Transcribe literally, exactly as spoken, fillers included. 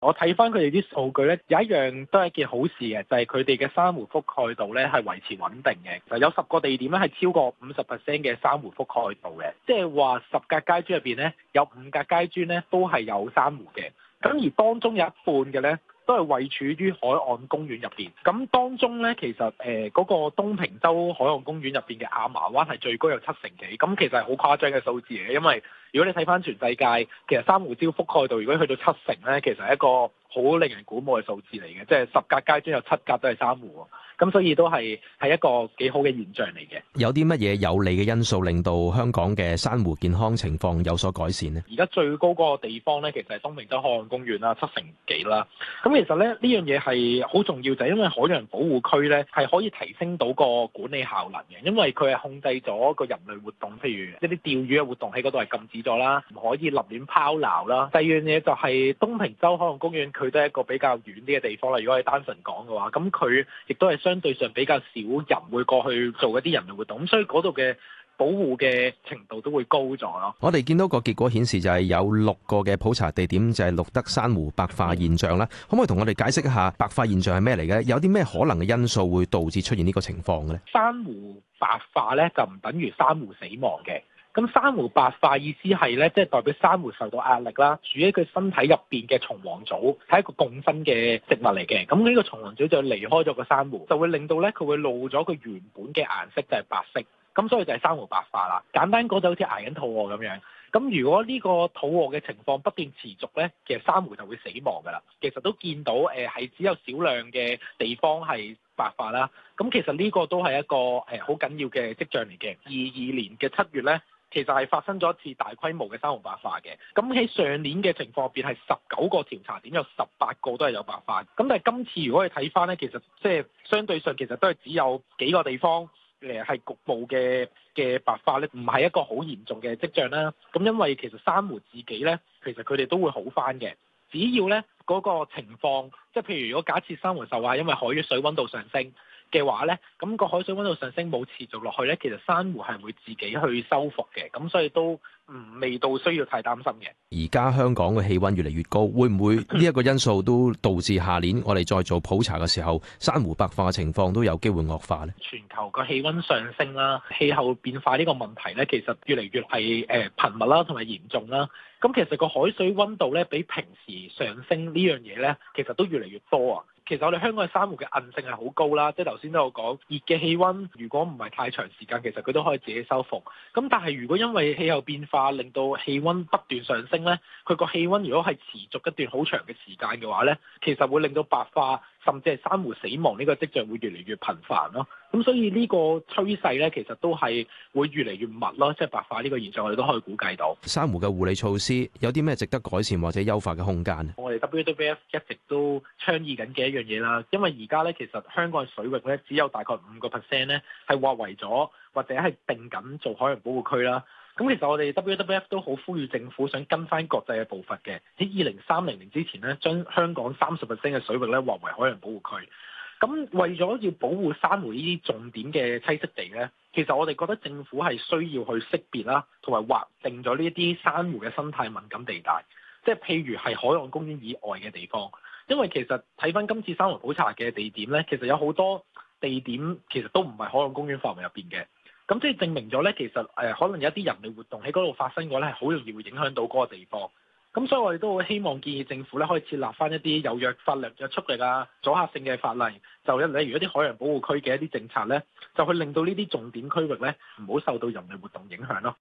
我睇翻佢哋啲數據咧，有一樣都係一件好事嘅，就係佢哋嘅珊瑚覆蓋度咧係維持穩定嘅。就有十個地點咧係超過五十 percent 嘅珊瑚覆蓋度嘅，即係話十格階磚入邊咧有五格階磚咧都係有珊瑚嘅。咁而當中有一半嘅咧，都係位處於海岸公園入邊。咁當中咧，其實誒嗰、呃那個東平洲海岸公園入邊嘅亞麻灣係最高有七成幾。咁其實係好誇張嘅數字嚟嘅，因為如果你睇翻全世界，其實珊瑚礁覆蓋度如果去到七成咧，其實係一個好令人鼓舞嘅數字嚟嘅，即係十格階磚有七格都係珊瑚。咁所以都係係一個幾好嘅現象嚟嘅。 有啲乜嘢有利嘅因素令到香港嘅珊瑚健康情況有所改善呢？ 而家最高嗰個地方咧，其實係東平洲海岸公園啦，七成幾啦。咁其實咧呢樣嘢係好重要，就係因為海洋保護區咧係可以提升到個管理效能嘅，因為佢係控制咗個人類活動，譬如一啲釣魚嘅活動喺嗰度係禁止咗啦，唔可以立亂拋錨啦。第二樣嘢就係東平洲海岸公園，佢都係一個比較遠啲嘅地方啦。如果係單純講嘅話，咁佢亦都係相對上比較少人會過去做一啲人類活動，咁所以嗰度嘅保護嘅程度都會高咗咯。 我哋見到個結果顯示就係有六個嘅普查地點就係錄得珊瑚白化現象啦。可唔可以同我哋解釋一下白化現象係咩嚟嘅？有啲咩可能嘅因素會導致出現呢個情況嘅咧？ 珊瑚白化咧就唔等於珊瑚死亡嘅。咁珊瑚白化意思係咧，即係代表珊瑚受到壓力啦，住喺佢身體入邊嘅蟲黃藻係一個共生嘅植物嚟嘅。咁呢個蟲黃藻就離開咗個珊瑚，就會令到咧佢會露咗佢原本嘅顏色，就係白色。咁所以就係珊瑚白化啦。簡單講就好似捱緊肚餓咁樣。咁如果呢個肚餓嘅情況不斷持續咧，其實珊瑚就會死亡㗎啦。其實都見到誒係只有少量嘅地方係白化啦。咁其實呢個都係一個誒好緊要嘅跡象嚟嘅。二二年嘅七月咧，其實係發生咗一次大規模嘅珊瑚白化嘅。咁喺上年嘅情況入邊係十九個調查點，有十八個都係有白化。咁但係今次如果你睇翻咧，其實即係相對上其實都係只有幾個地方誒係局部嘅嘅白化咧，唔係一個好嚴重嘅跡象啦。咁因為其實珊瑚自己咧，其實佢哋都會好翻嘅。只要咧嗰個情況，即係譬如如果假設珊瑚受害因為海水溫度上升嘅話咧，咁個海水溫度上升冇持續落去咧，其實珊瑚係會自己去修復嘅，咁所以都唔未到需要太擔心嘅。 而家香港嘅氣溫越嚟越高，會唔會呢一個因素都導致下年我哋再做普查嘅時候，珊瑚白化嘅情況都有機會惡化咧？ 全球個氣溫上升啦，氣候變化呢個問題咧，其實越嚟越係誒頻密啦，同埋嚴重啦。咁其實個海水溫度咧，比平時上升呢樣嘢咧，其實都越嚟越多啊。其實我哋香港嘅珊瑚嘅韌性係好高啦，即係頭先都有講，熱嘅氣溫如果唔係太長時間，其實佢都可以自己修復。咁但係如果因為氣候變化令到氣溫不斷上升咧，佢個氣溫如果係持續一段好長嘅時間嘅話咧，其實會令到白化甚至係珊瑚死亡呢個跡象會越嚟越頻繁咯。咁所以呢個趨勢咧，其實都係會越嚟越密咯，即係白化呢個現象，我哋都可以估計到。 珊瑚嘅護理措施有啲咩值得改善或者優化嘅空間？ 我哋 W W F 一直都倡議緊嘅一樣嘢啦，因為而家咧其實香港嘅水域咧只有大概五個 percent 咧係劃為咗或者係定緊做海洋保護區啦。咁其實我哋 W W F 都好呼籲政府想跟翻國際嘅步伐嘅，喺二零三零年之前咧，將香港三十 percent 嘅水域咧劃為海洋保護區。咁為咗要保護珊瑚呢啲重點嘅棲息地咧，其實我哋覺得政府係需要去識別啦，同埋劃定咗呢一啲珊瑚嘅生態敏感地帶，即係譬如係海岸公園以外嘅地方。因為其實睇翻今次珊瑚普查嘅地點咧，其實有好多地點其實都唔係海岸公園範圍入邊嘅。咁即係證明咗咧，其實誒、呃、可能有一啲人類活動喺嗰度發生嘅話咧，係好容易會影響到嗰個地方。咁所以我哋都好希望建議政府咧，可以設立翻一啲有約法律約束力啊、阻嚇性嘅法例，就例如一啲海洋保護區嘅一啲政策咧，就去令到呢啲重點區域咧，唔好受到人類活動影響咯。